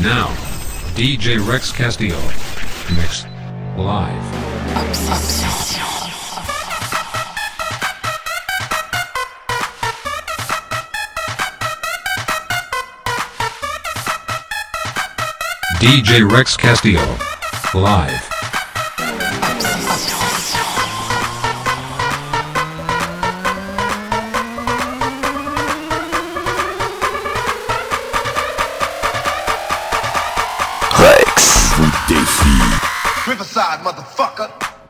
Now, DJ Rex Castillo. Mix. Live. Obsession. DJ Rex Castillo. Live. Rex vous défie. Riverside, motherfucker.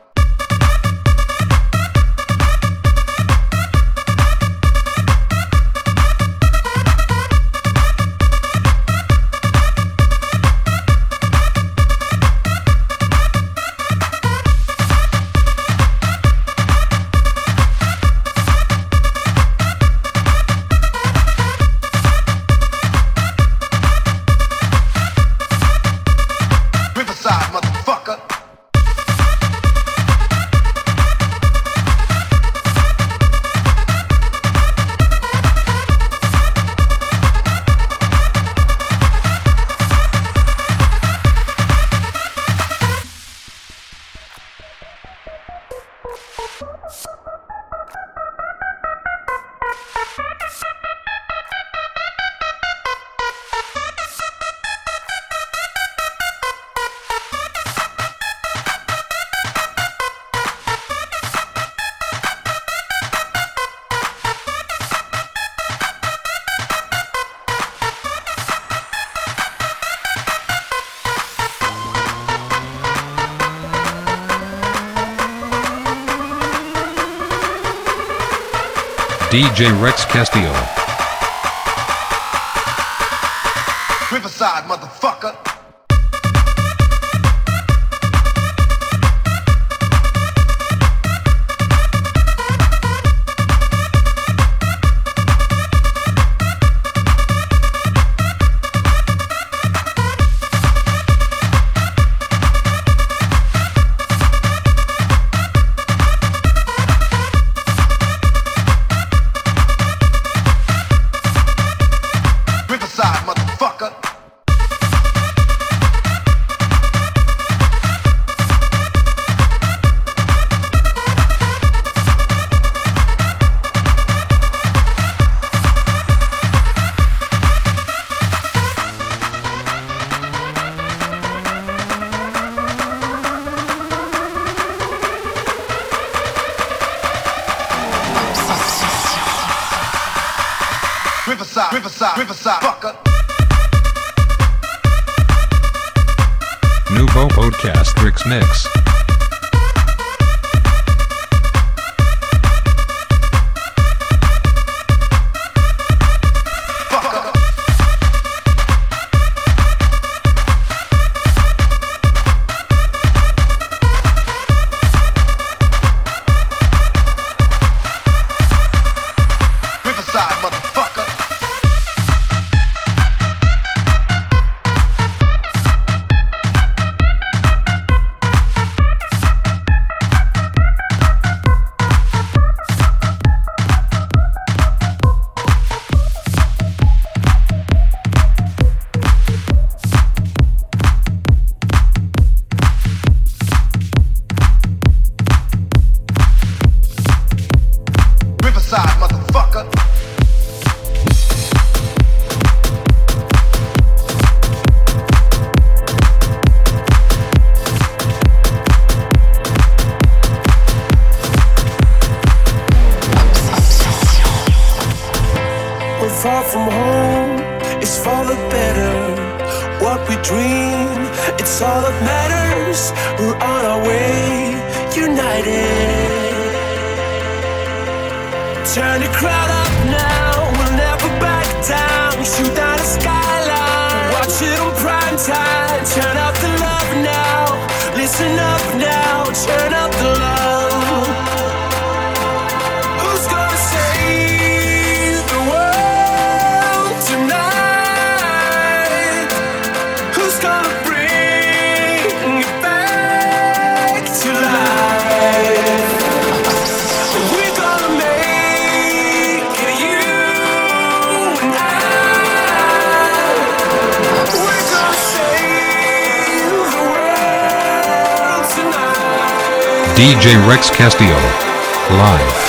Riverside, motherfucker. DJ Rex Castillo. Riverside, motherfucker. Riverside, motherfucker. Riverside, Riverside, Riverside, fucker. Nouveau Podcast Rix Mix. Fucker. Riverside, motherfucker. Riverside, motherfucker. We're far from home, it's for the better. What we dream, it's all that matters. We're on our way, united. Turn the crowd up now, we'll never back down. Shoot down the skyline, watch it on prime time. Turn up the love now, listen up now. Turn up the love. Who's gonna save the world tonight? Who's gonna bring it back to life? We're gonna make it, you and I. DJ Rex Castillo. Live.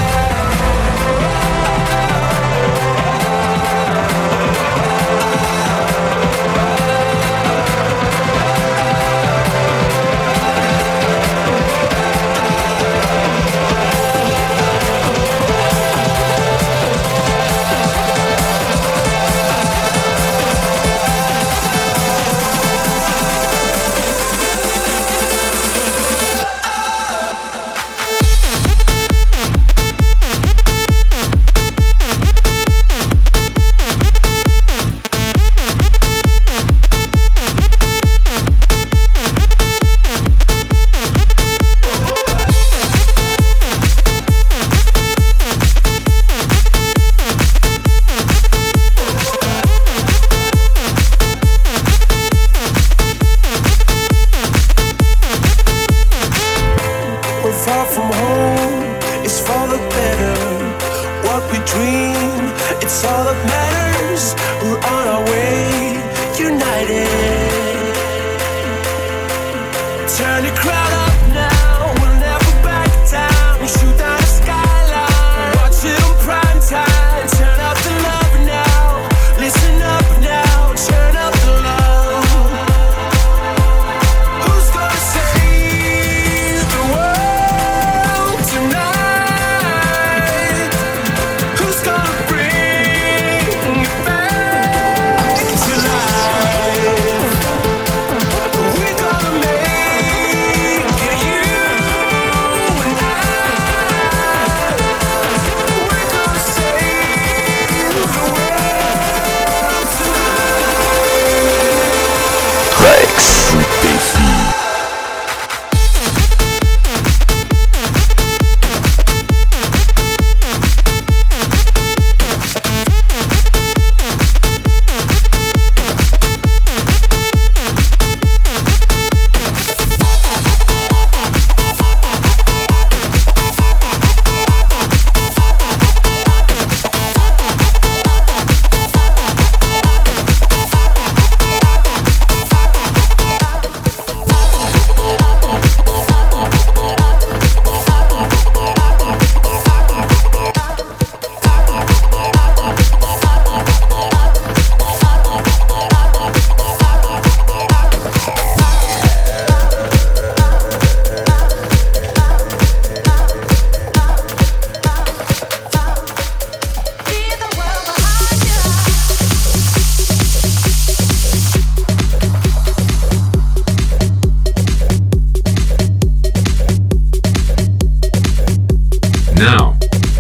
Now,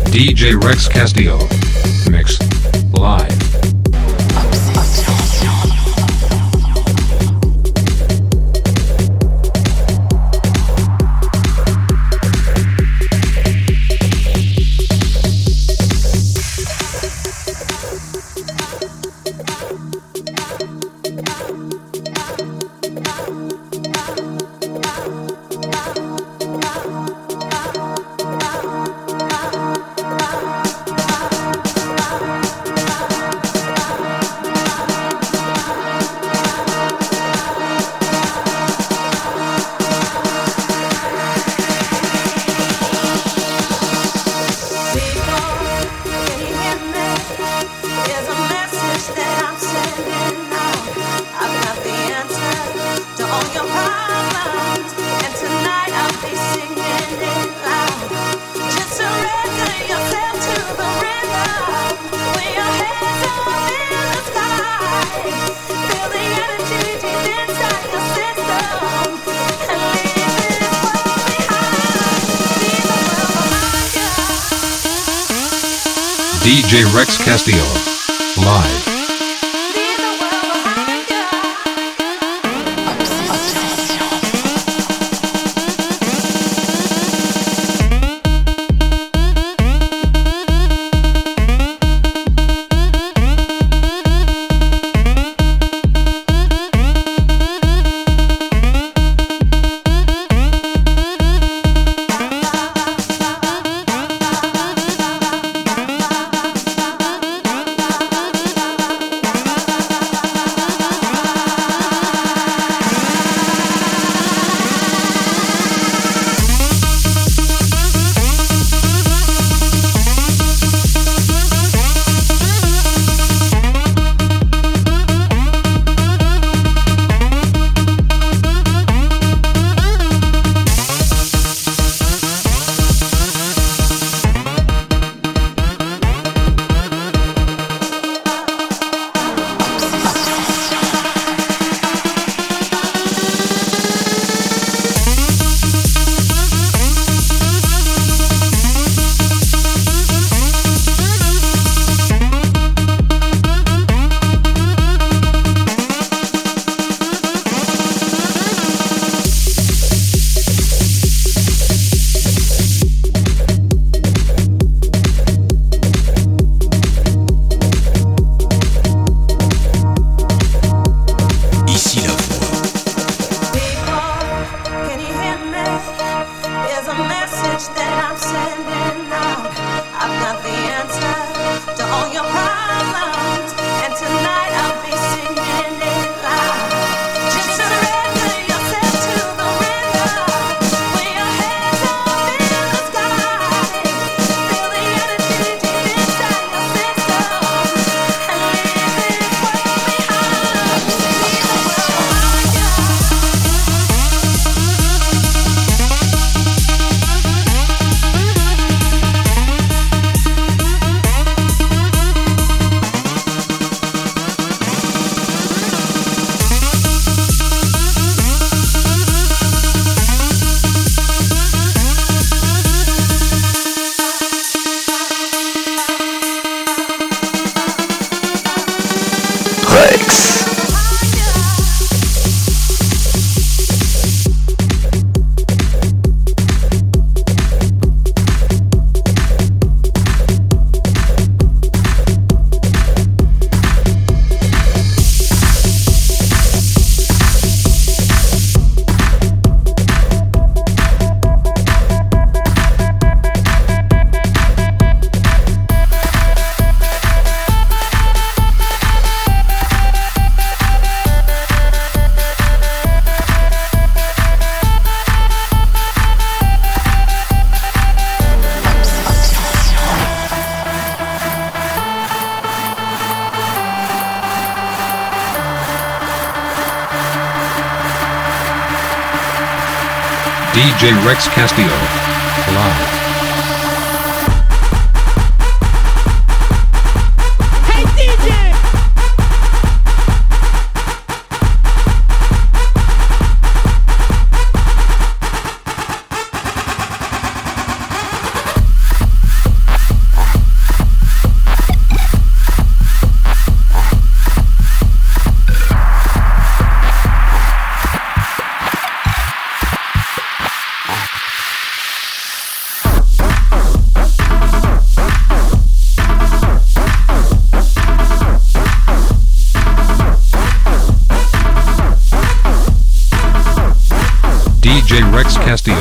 DJ Rex Castillo. Mix. Live. DJ Rex Castillo. Live. Rex. DJ Rex Castillo. Live. Hey DJ! DJ Rex Castillo.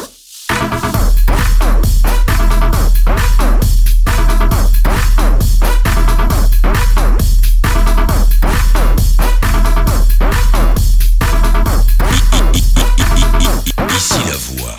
Ici la voix.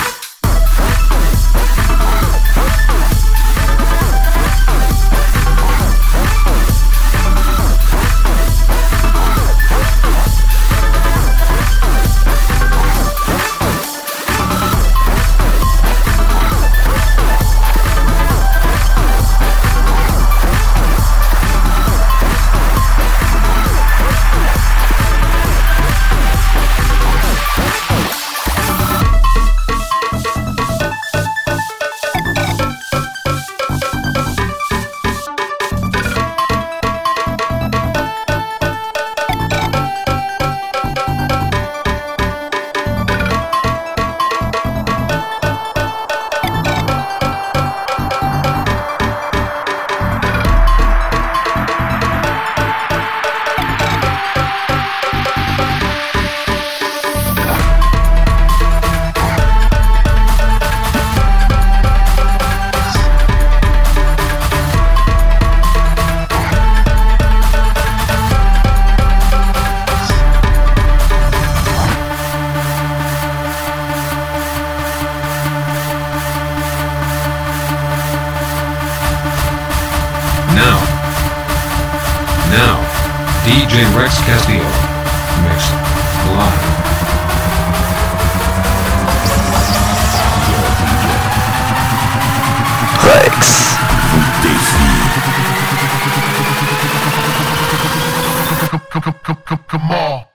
Now, DJ Rex Castillo. Mix. Live. Rex vous défie. Come on.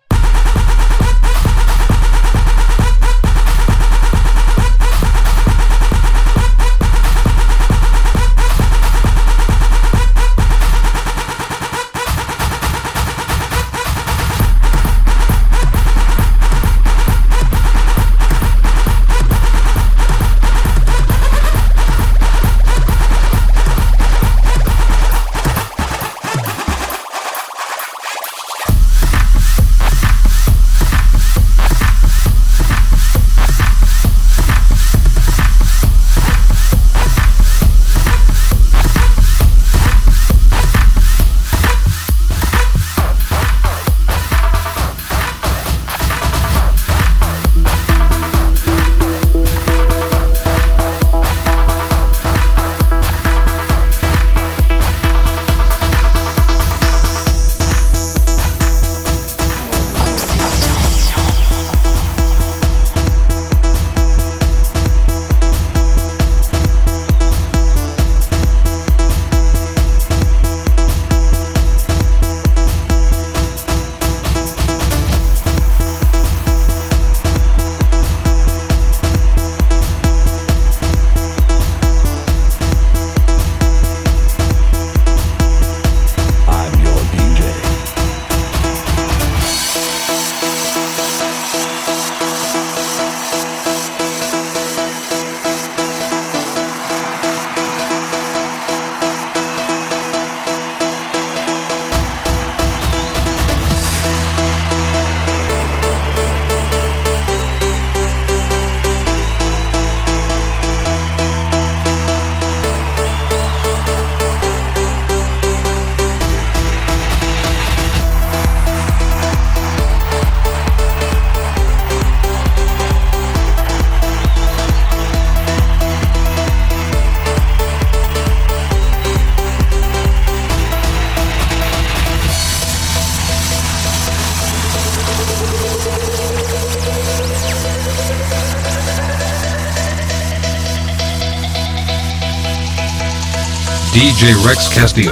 DJ Rex Castillo.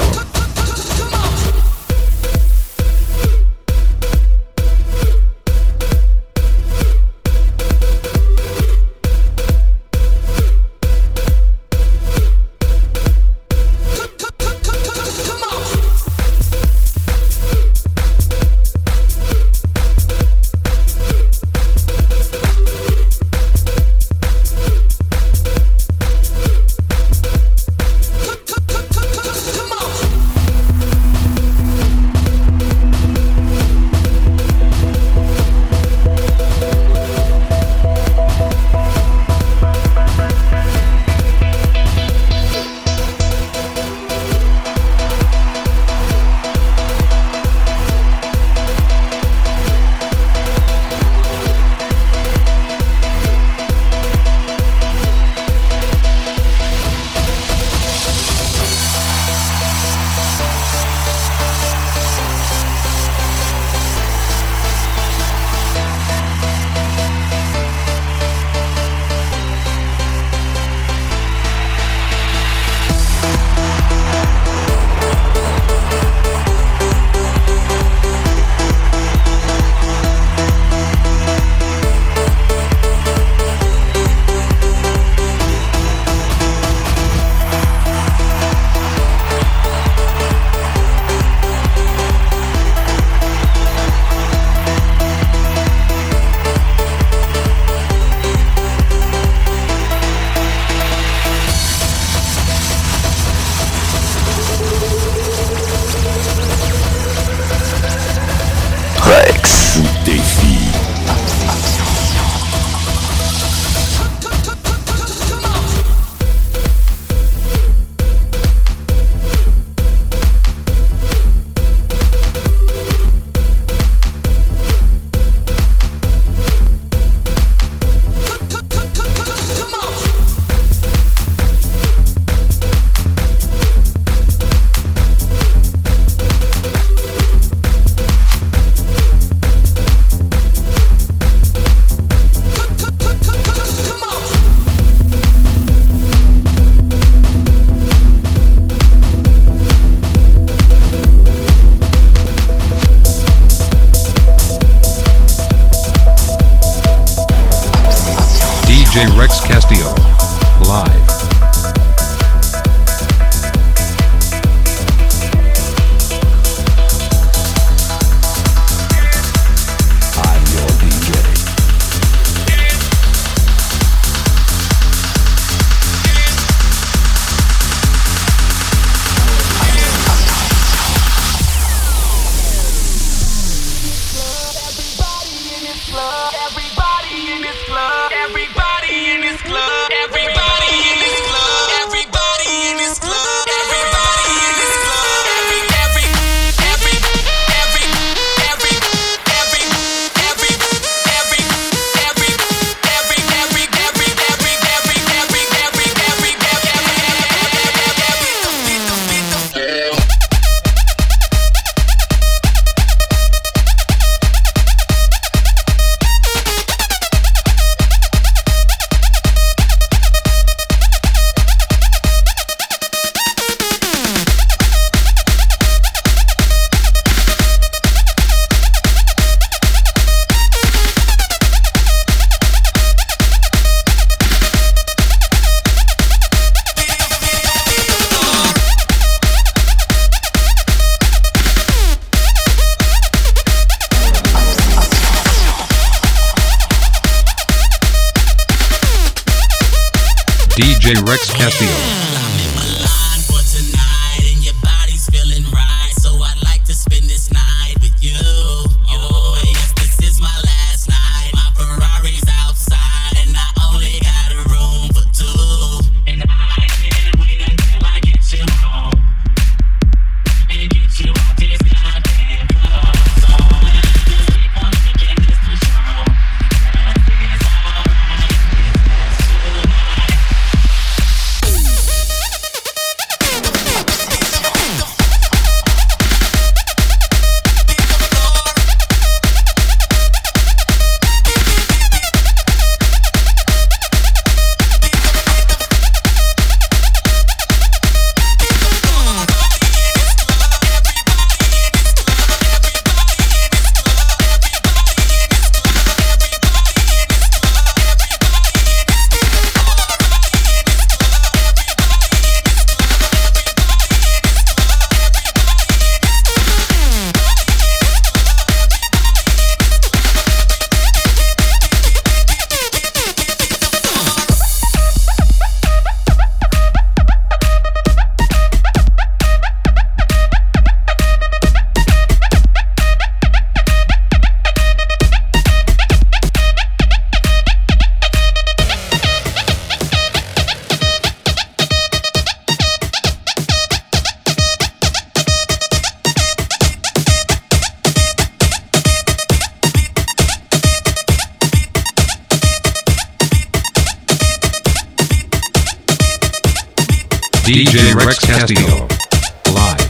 DJ Rex Castillo. Live. DJ Rex Castillo. DJ Rex Castillo. Live.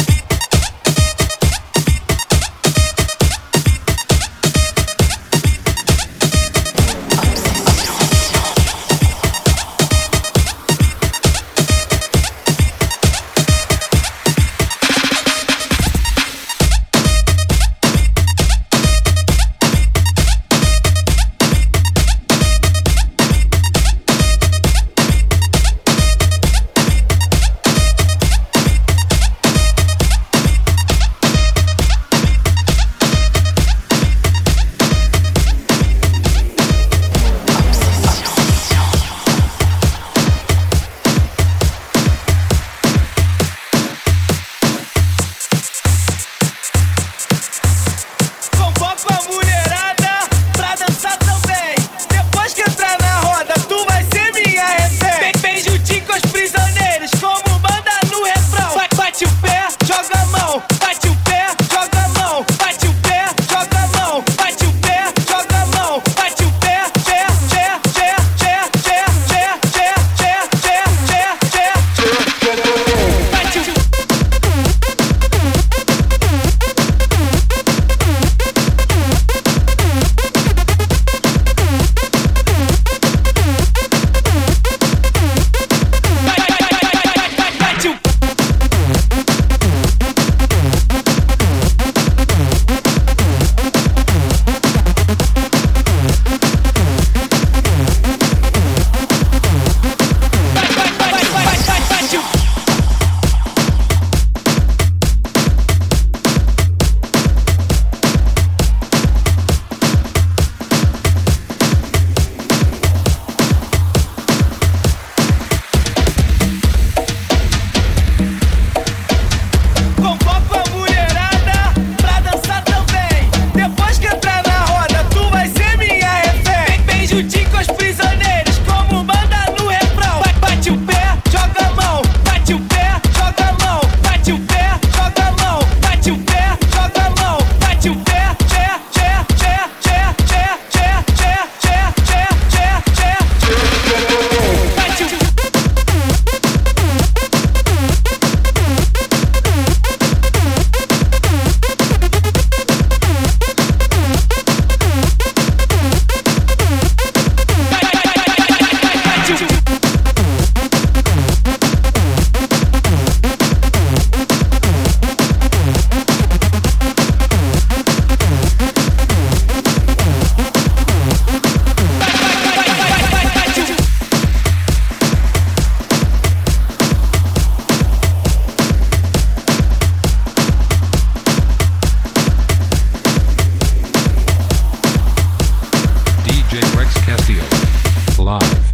Live.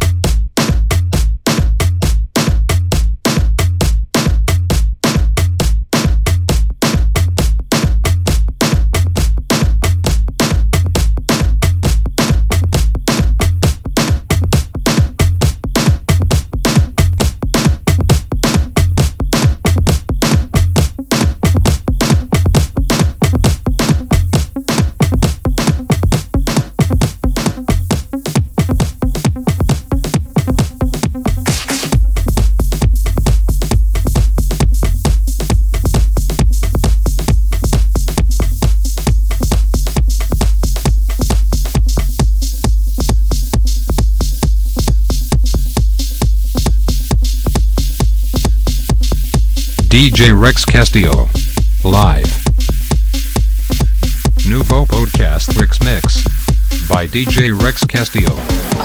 DJ Rex Castillo. Live. Nouveau podcast Rex Mix. By DJ Rex Castillo.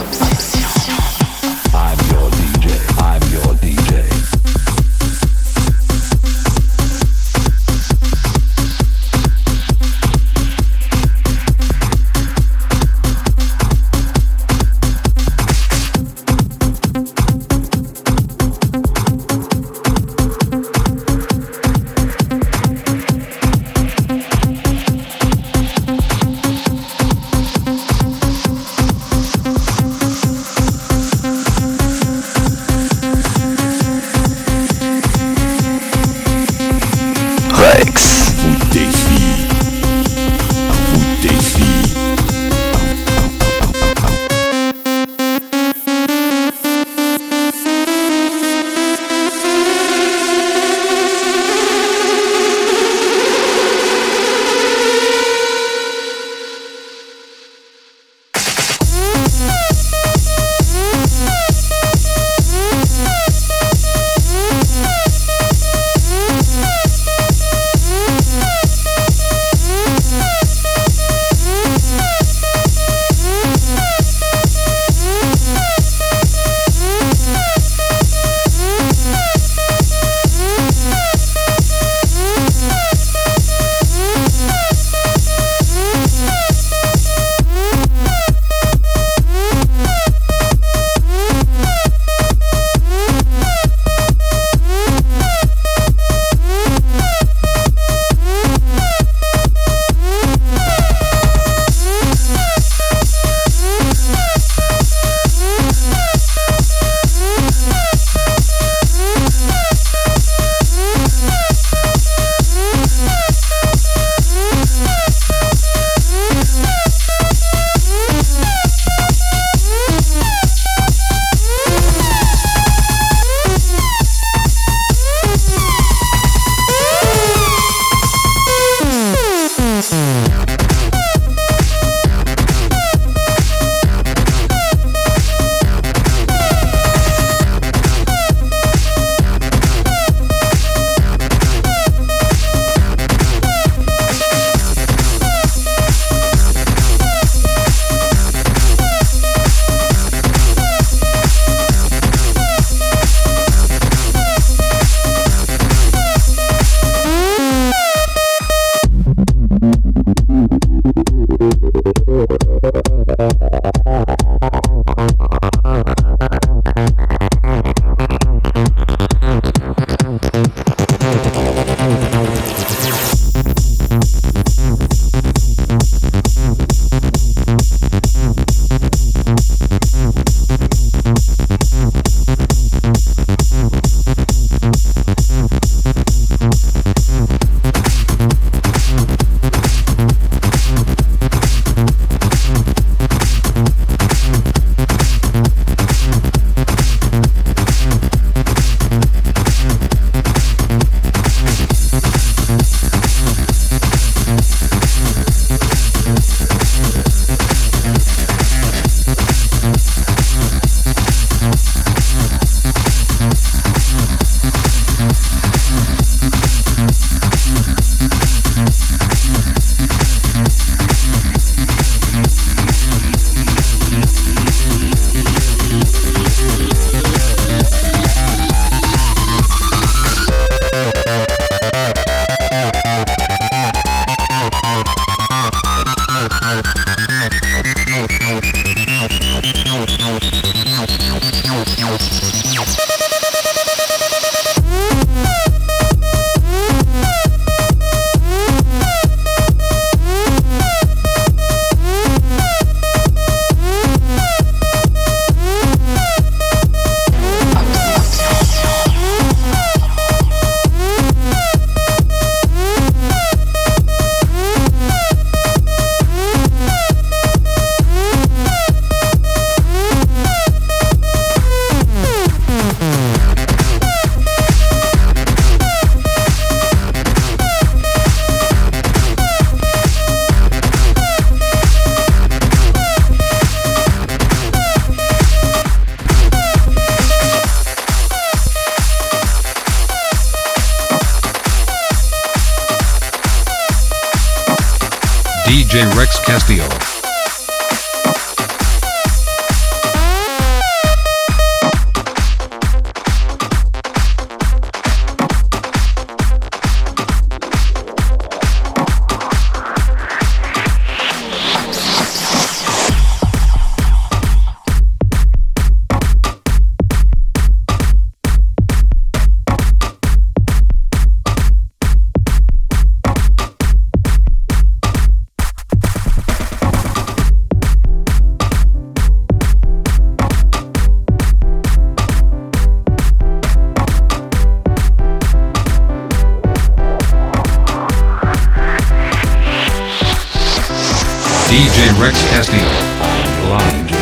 I'm your DJ. I'm your DJ. DJ Rex Castillo. DJ Rex Castillo. Live.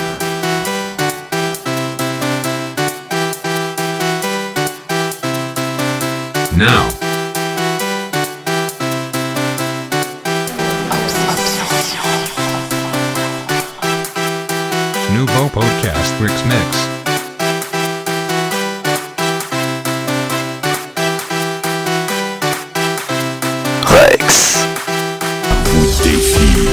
Now. Nouveau Podcast Rex Mix. Rex vous défie.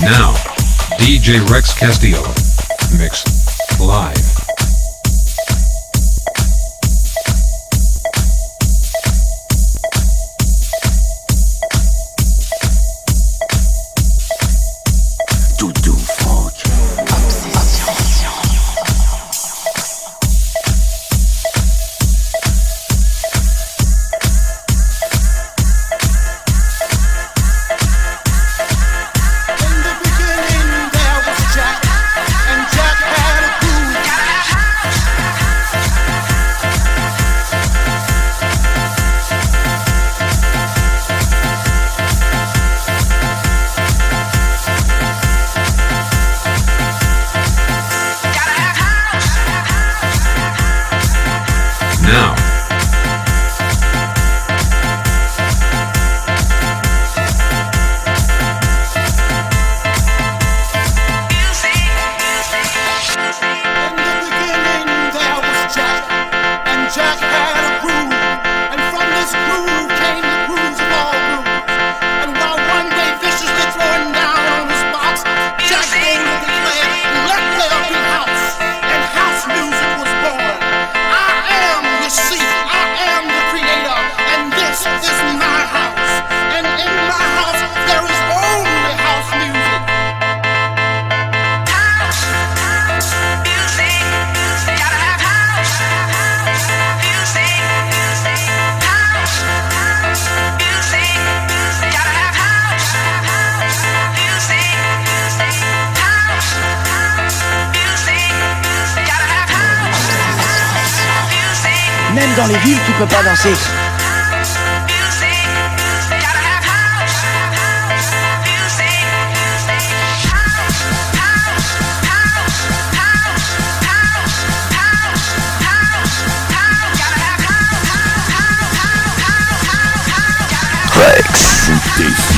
Now, DJ Rex Castillo. Mix. Live. Now, Même dans les villes, tu peux pas danser. Rex défi.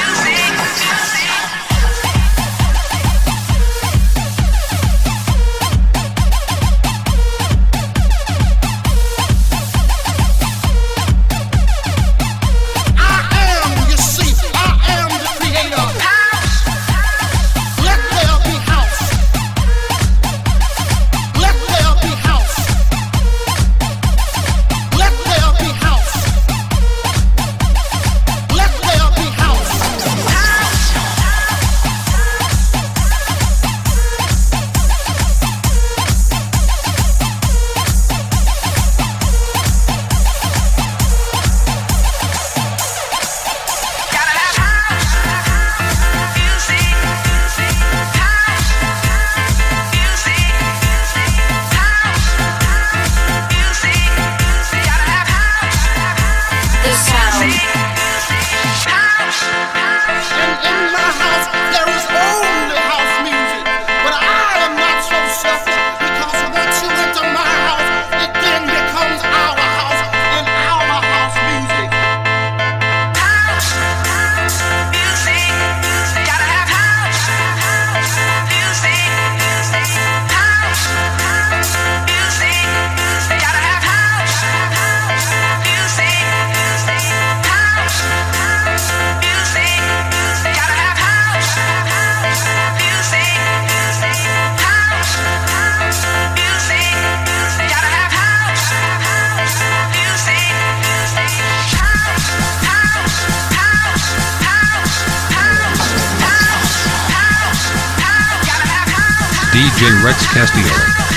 DJ Rex Castillo.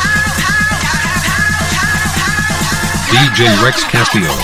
DJ Rex Castillo.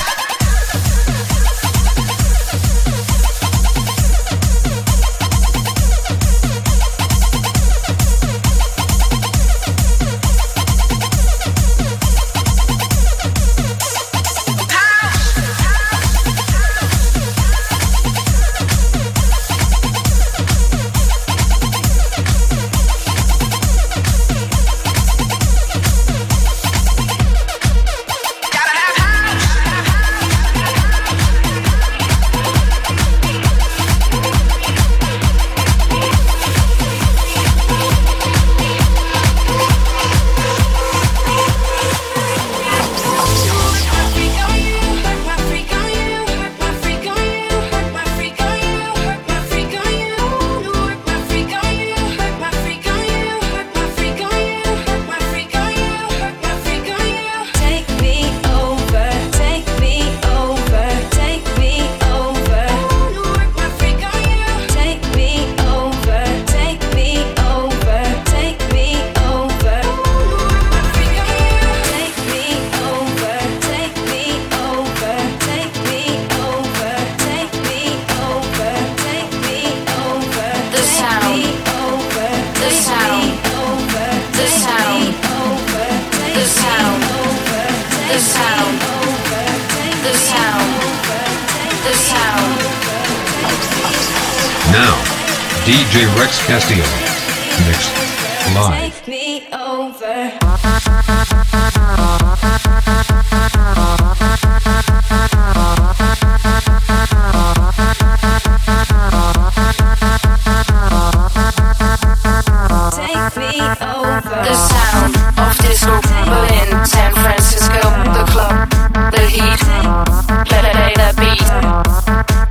Now, DJ Rex Castillo. Mixed live. Take me over. The sound of disco, Berlin, San Francisco, the club, the heat, play the beat.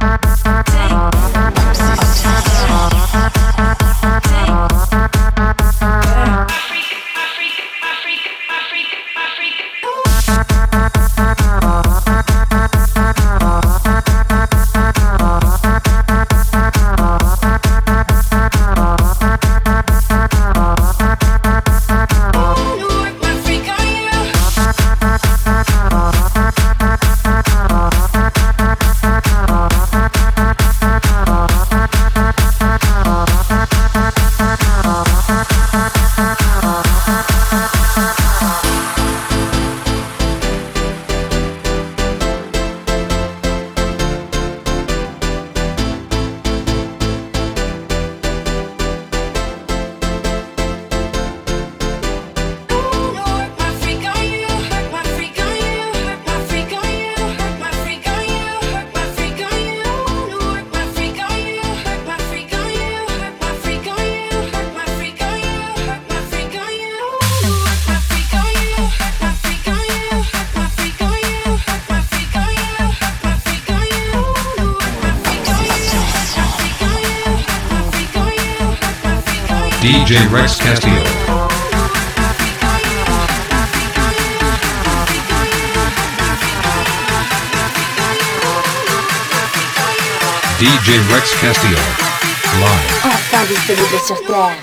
DJ Rex Castillo. DJ Rex Castillo. Live. Enfin disponible sur Terre.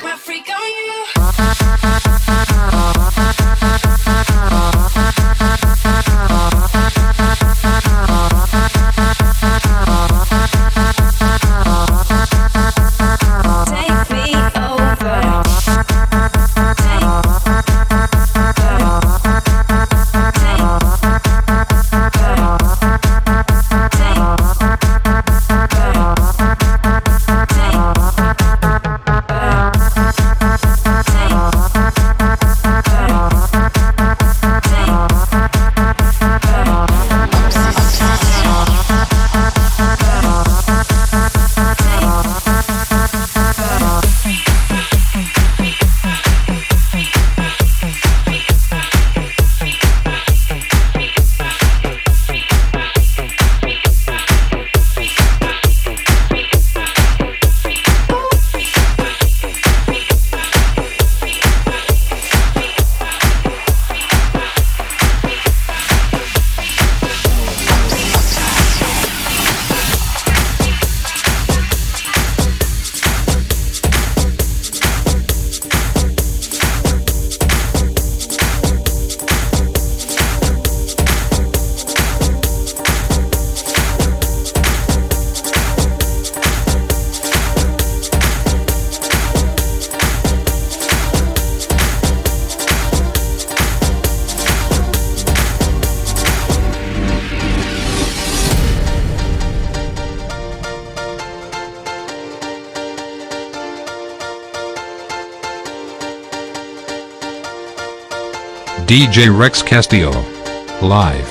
DJ Rex Castillo. Live.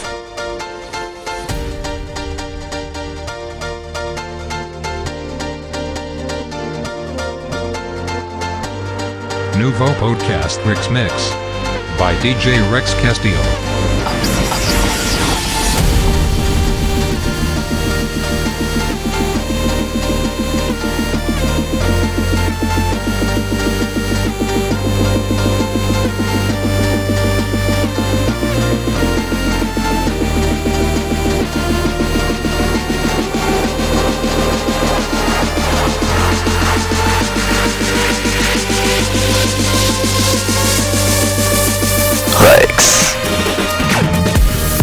Nouveau podcast Rex Mix by DJ Rex Castillo. Rex.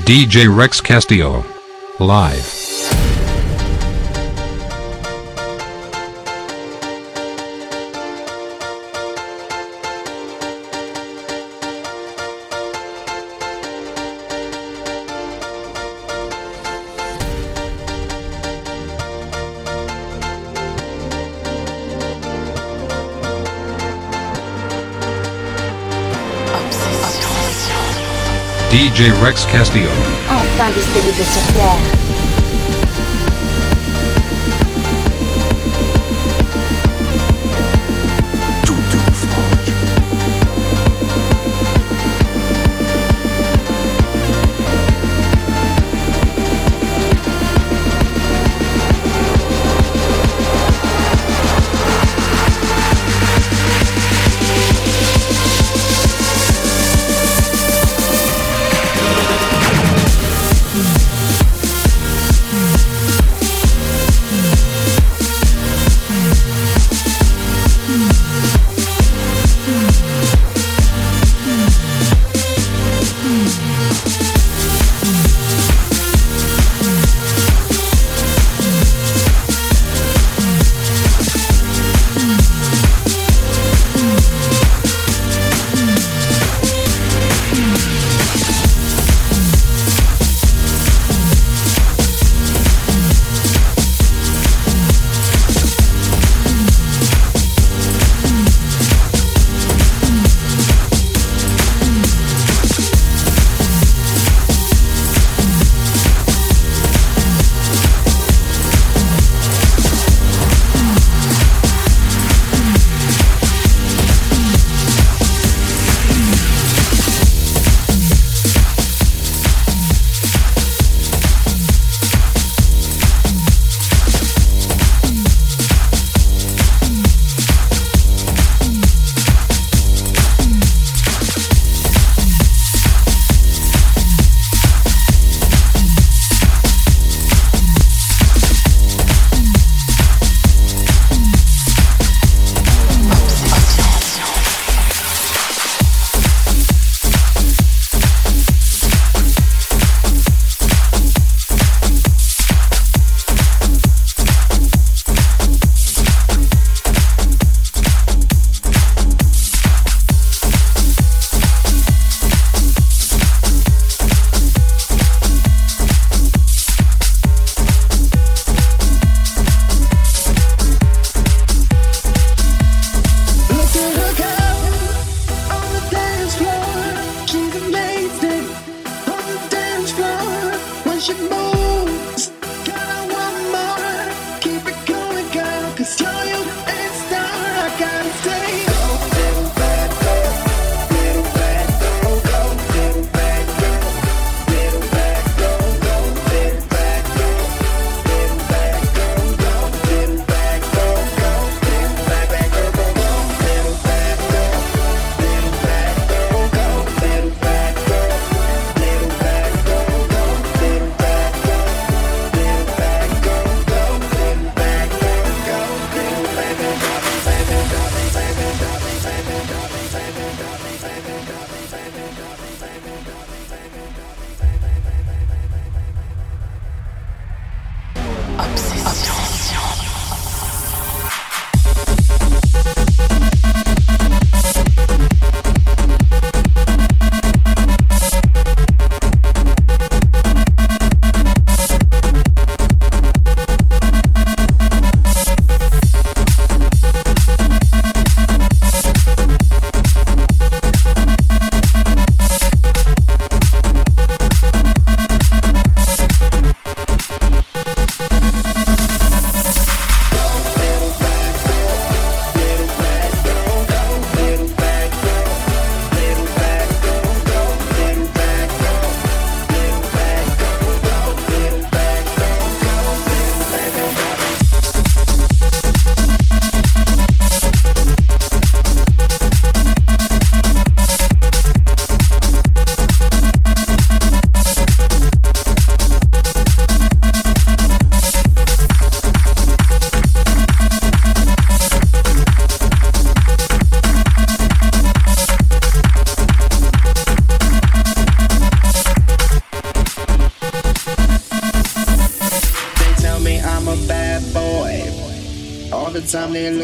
DJ Rex Castillo. Live. DJ Rex Castillo. Enfin disponible sur Terre.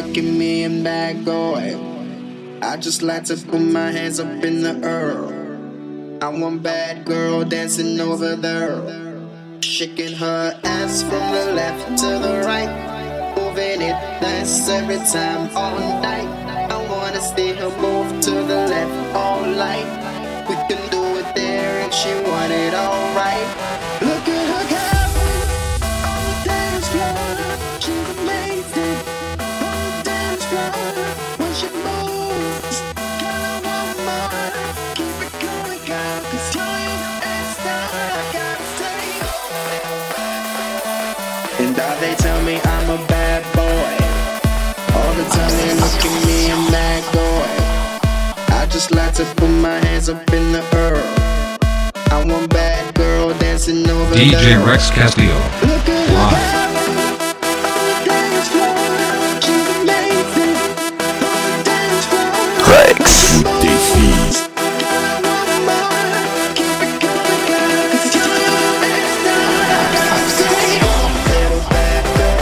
look at me and back boy. I just like to put my hands up in the air. I want bad girl dancing over there, shaking her ass from the left to the right, moving it nice every time all night. I wanna see her move to the left all night. We can do it there and she want it all right. Look at her go on the dance floor. She's amazing on the dance floor. When she moves, girl, I want more. Keep it going, girl, 'cause you're your best star. I gotta say. And now they tell me I'm a bad boy. All the time they look at me and mad boy. I just like to put my hands up in the air. I want bad girl dancing over DJ there. Rex Castillo. Look at her Live. on the dance floor. She's amazing on the dance floor. Rex défie. Girl, I want more. Keep it going, girl, 'cause you're your best star. I gotta say, little bad girl,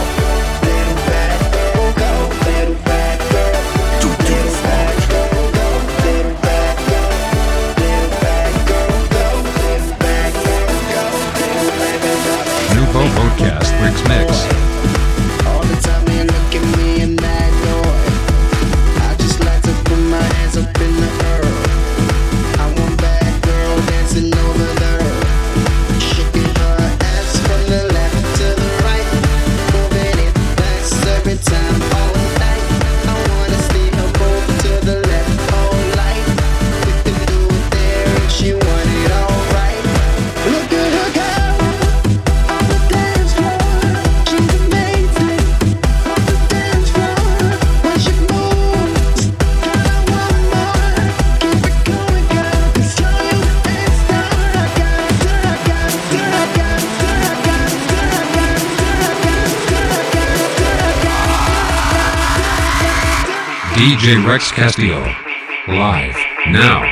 go, little bad girl, little bad girl, go, little bad girl, little bad girl, go, little bad girl, go, little bad girl. Nouveau Podcast Bricks Mix. All the time they look at me and that boy. I just like to put my hands up in the air. I want bad girl dancing over there, shaking her ass from the left to the right, moving it fast every time all night. I wanna see her move to the left all night. We can do it there and she want it all right. Look at her go on the dance floor. She's amazing on the dance floor. When she moves, girl, I want more. Keep it going, girl, 'cause you're your best star. I DJ Rex Castillo. Live. Now.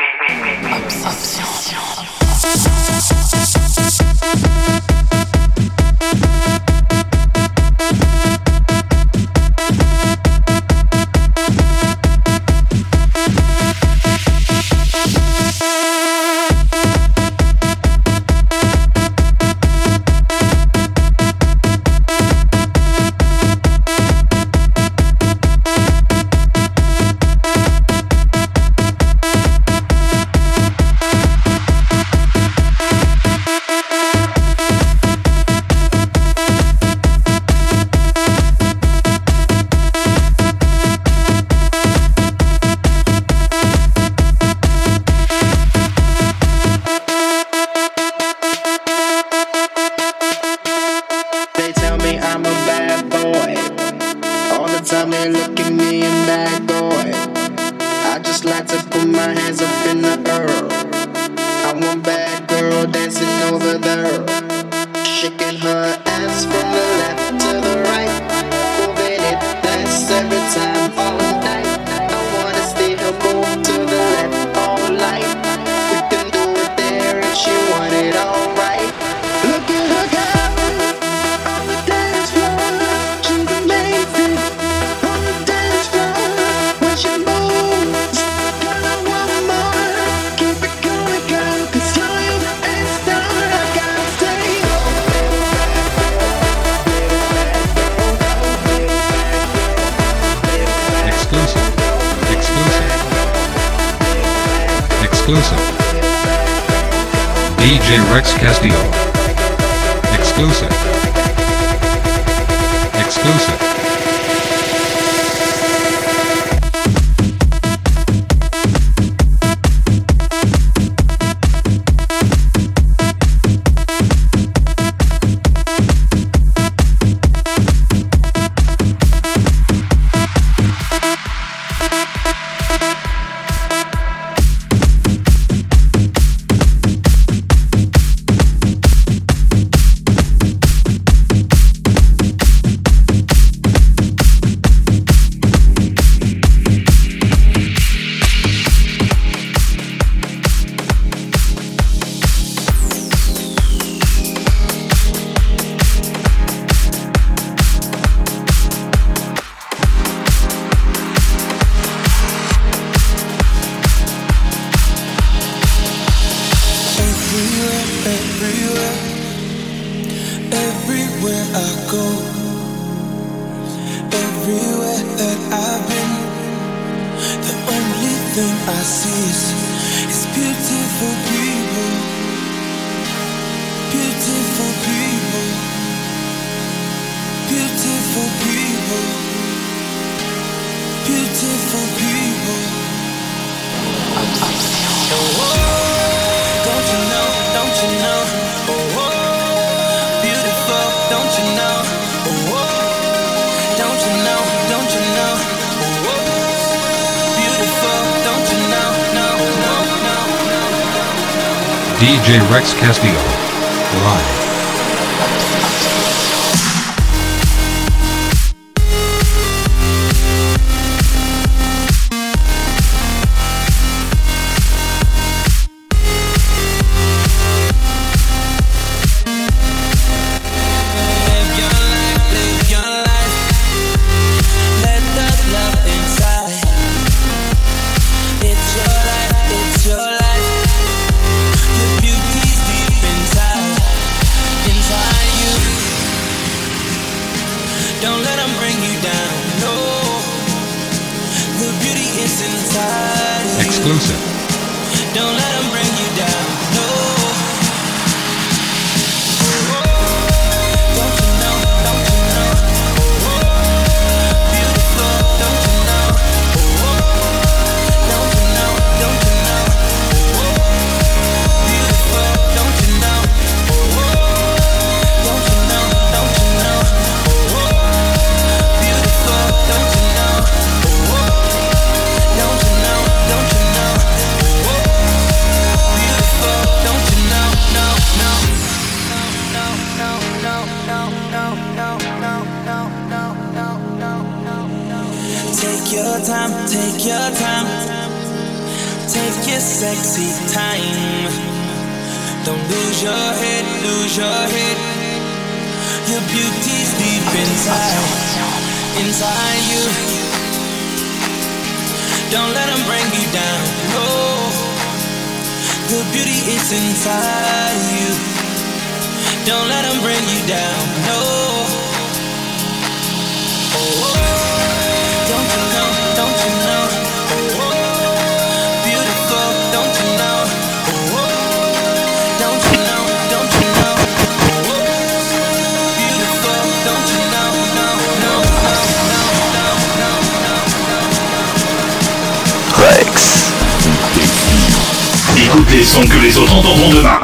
They tell me I'm a bad boy. All the time they look at me and bad boy. I just like to put my hands up in the air. I want bad girl dancing over there, shaking her ass from the left to the right, moving it fast every time all night. I wanna see her move to the left all night. We can do it there and she want it all right. Look at her go on the dance floor. She's amazing on the dance floor. When she moves, girl, I want more. Keep it going, girl, 'cause you're your best star. I gotta say, Exclusive. Exclusive. Exclusive. DJ Rex Castillo. Exclusive. Exclusive. I go, everywhere that I've been, the only thing I see is beautiful people, beautiful people, beautiful people, beautiful people. Oh, don't you know, don't you know? Oh, beautiful, don't you know? Oh, don't you know, don't you know? Oh, beautiful, don't you know? No, no, no, no, no. DJ Rex Castillo. Live. Exclusive. Don't let them bring you down, no. Don't you know, don't you know? Beautiful, don't you know? Don't you know, don't you know? Beautiful, don't you know? Don't you know, don't you know? Beautiful, don't you know? Don't you know, don't you know? Beautiful, don't you know? No, no, no, no, no, no, no, no, no, no, no, no, no, no, no. Take your time, take your time, take your sexy time. Don't lose your head, lose your head. Your beauty's deep inside, inside you. Don't let them bring you down, no. The beauty is inside you. Don't let them bring you down, no. Oh, don't you know, don't you know? Oh, beautiful, don't you know? Oh, don't you know, don't you know? Oh, beautiful, don't you know? No, no, no, no, no, no, no, no. Rex. Écoute les sons que les autres entendront demain.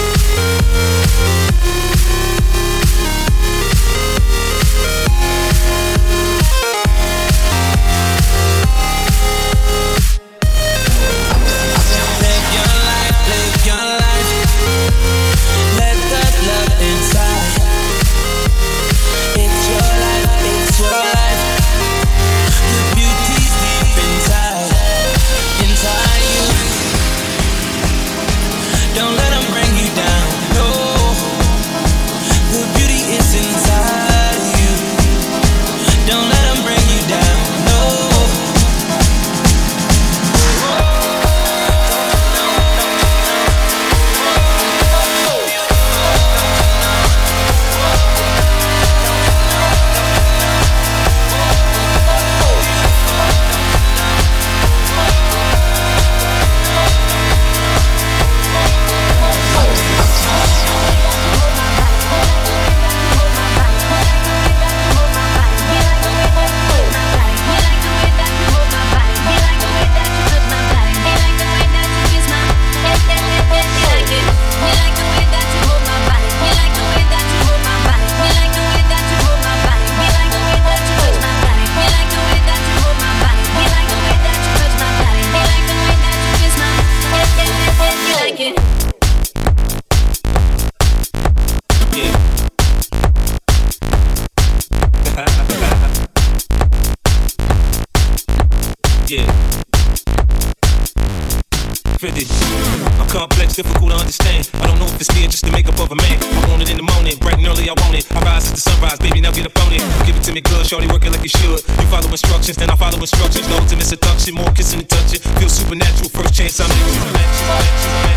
Complex, difficult to understand. I don't know if it's me or just the makeup of a man. I want it in the morning, bright and early, I want it. I rise at the sunrise, baby, now get up on it. Give it to me good, shorty, work it like you should. You follow instructions, then I follow instructions. No intimate seduction, more kissing and touching. Feel supernatural, first chance I'm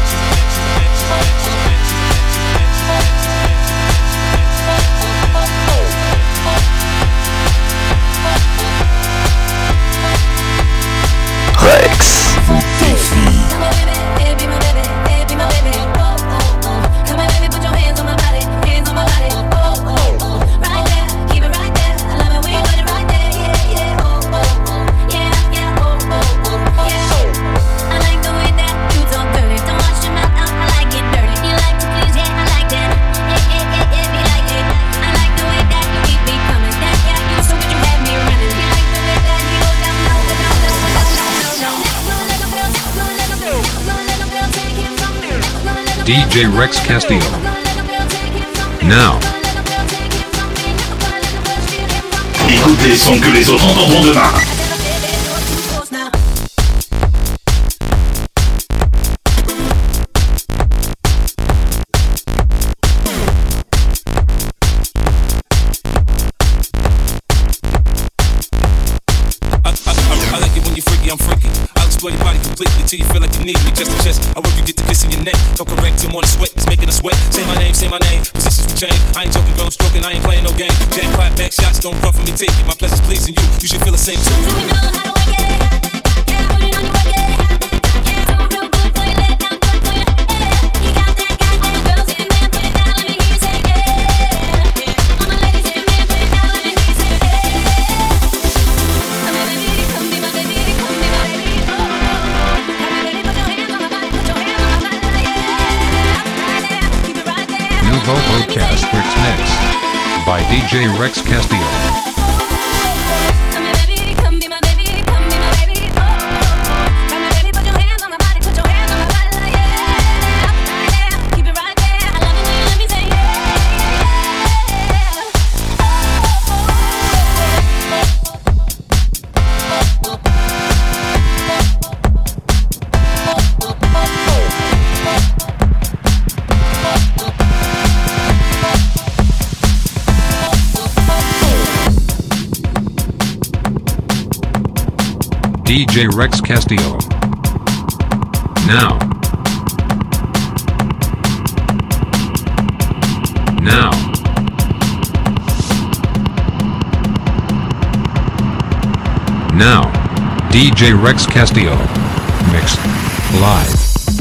in. DJ Rex Castillo. Now. Écoute les sons que les autres entendront demain. I'm freaky. I'll explore your body completely till you feel like you need me. Chest to chest, I work you get to kissing your neck. Don't correct him on the sweat, it's making us sweat. Say my name, positions will change. I ain't joking, girl, I'm stroking, I ain't playing no game. Jackpot, back shots, don't run from me, take it. My pleasure's pleasing you, you should feel the same too. Do we know how to work it? Yeah, put it on your work it. Yeah, do it real good for your leg, now good for your head. You got that guy, all the girls in there, put it down, let me hear you say yeah. All my ladies in there, put it down, let me hear you say yeah. I'm a baby, come be my baby, come be my baby. Nouveau Podcast Mix by DJ Rex Castillo. DJ Rex Castillo. Now. Now. Now. DJ Rex Castillo. Mix. Live.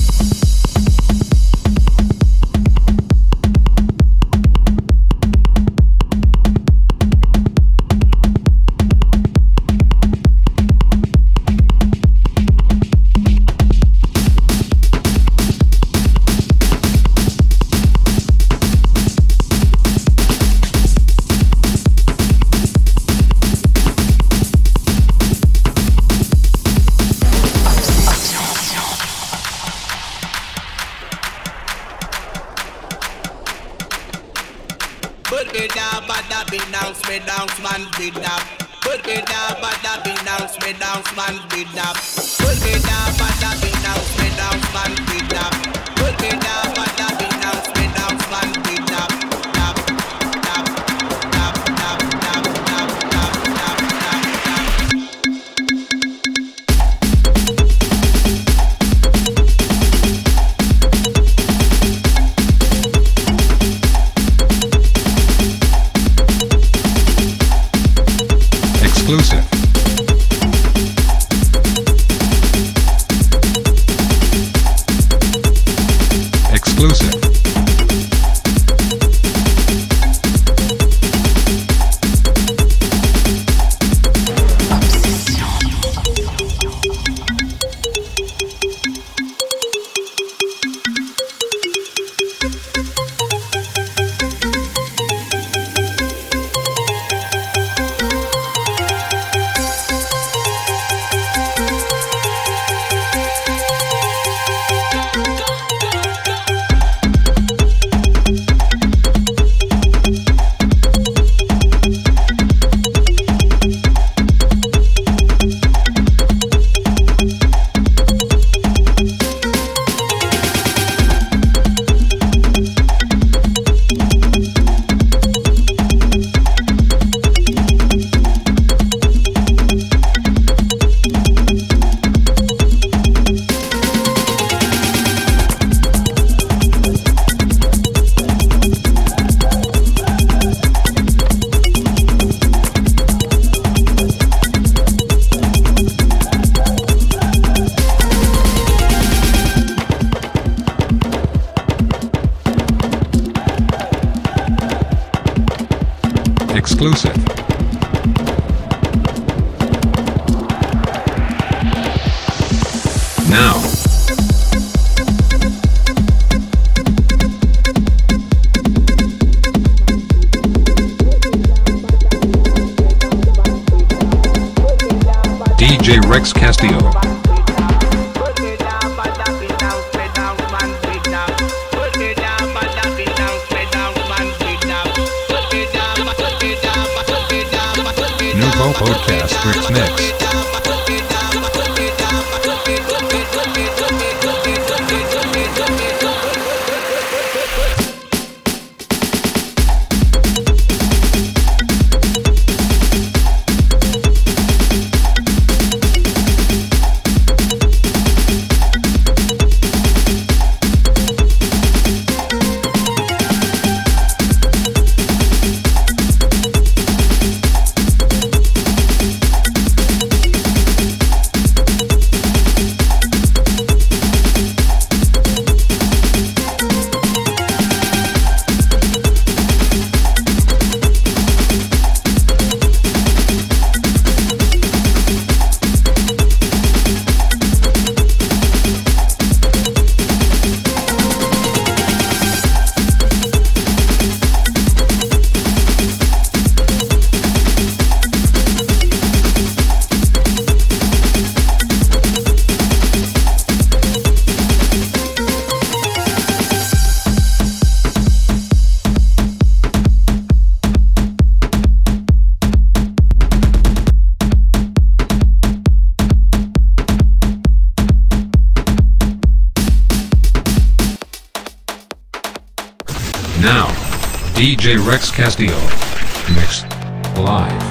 Exclusive. Exclusive. Exclusive. Now. DJ Rex Castillo. Podcast Rex Mix. Now, DJ Rex Castillo. Mixed live.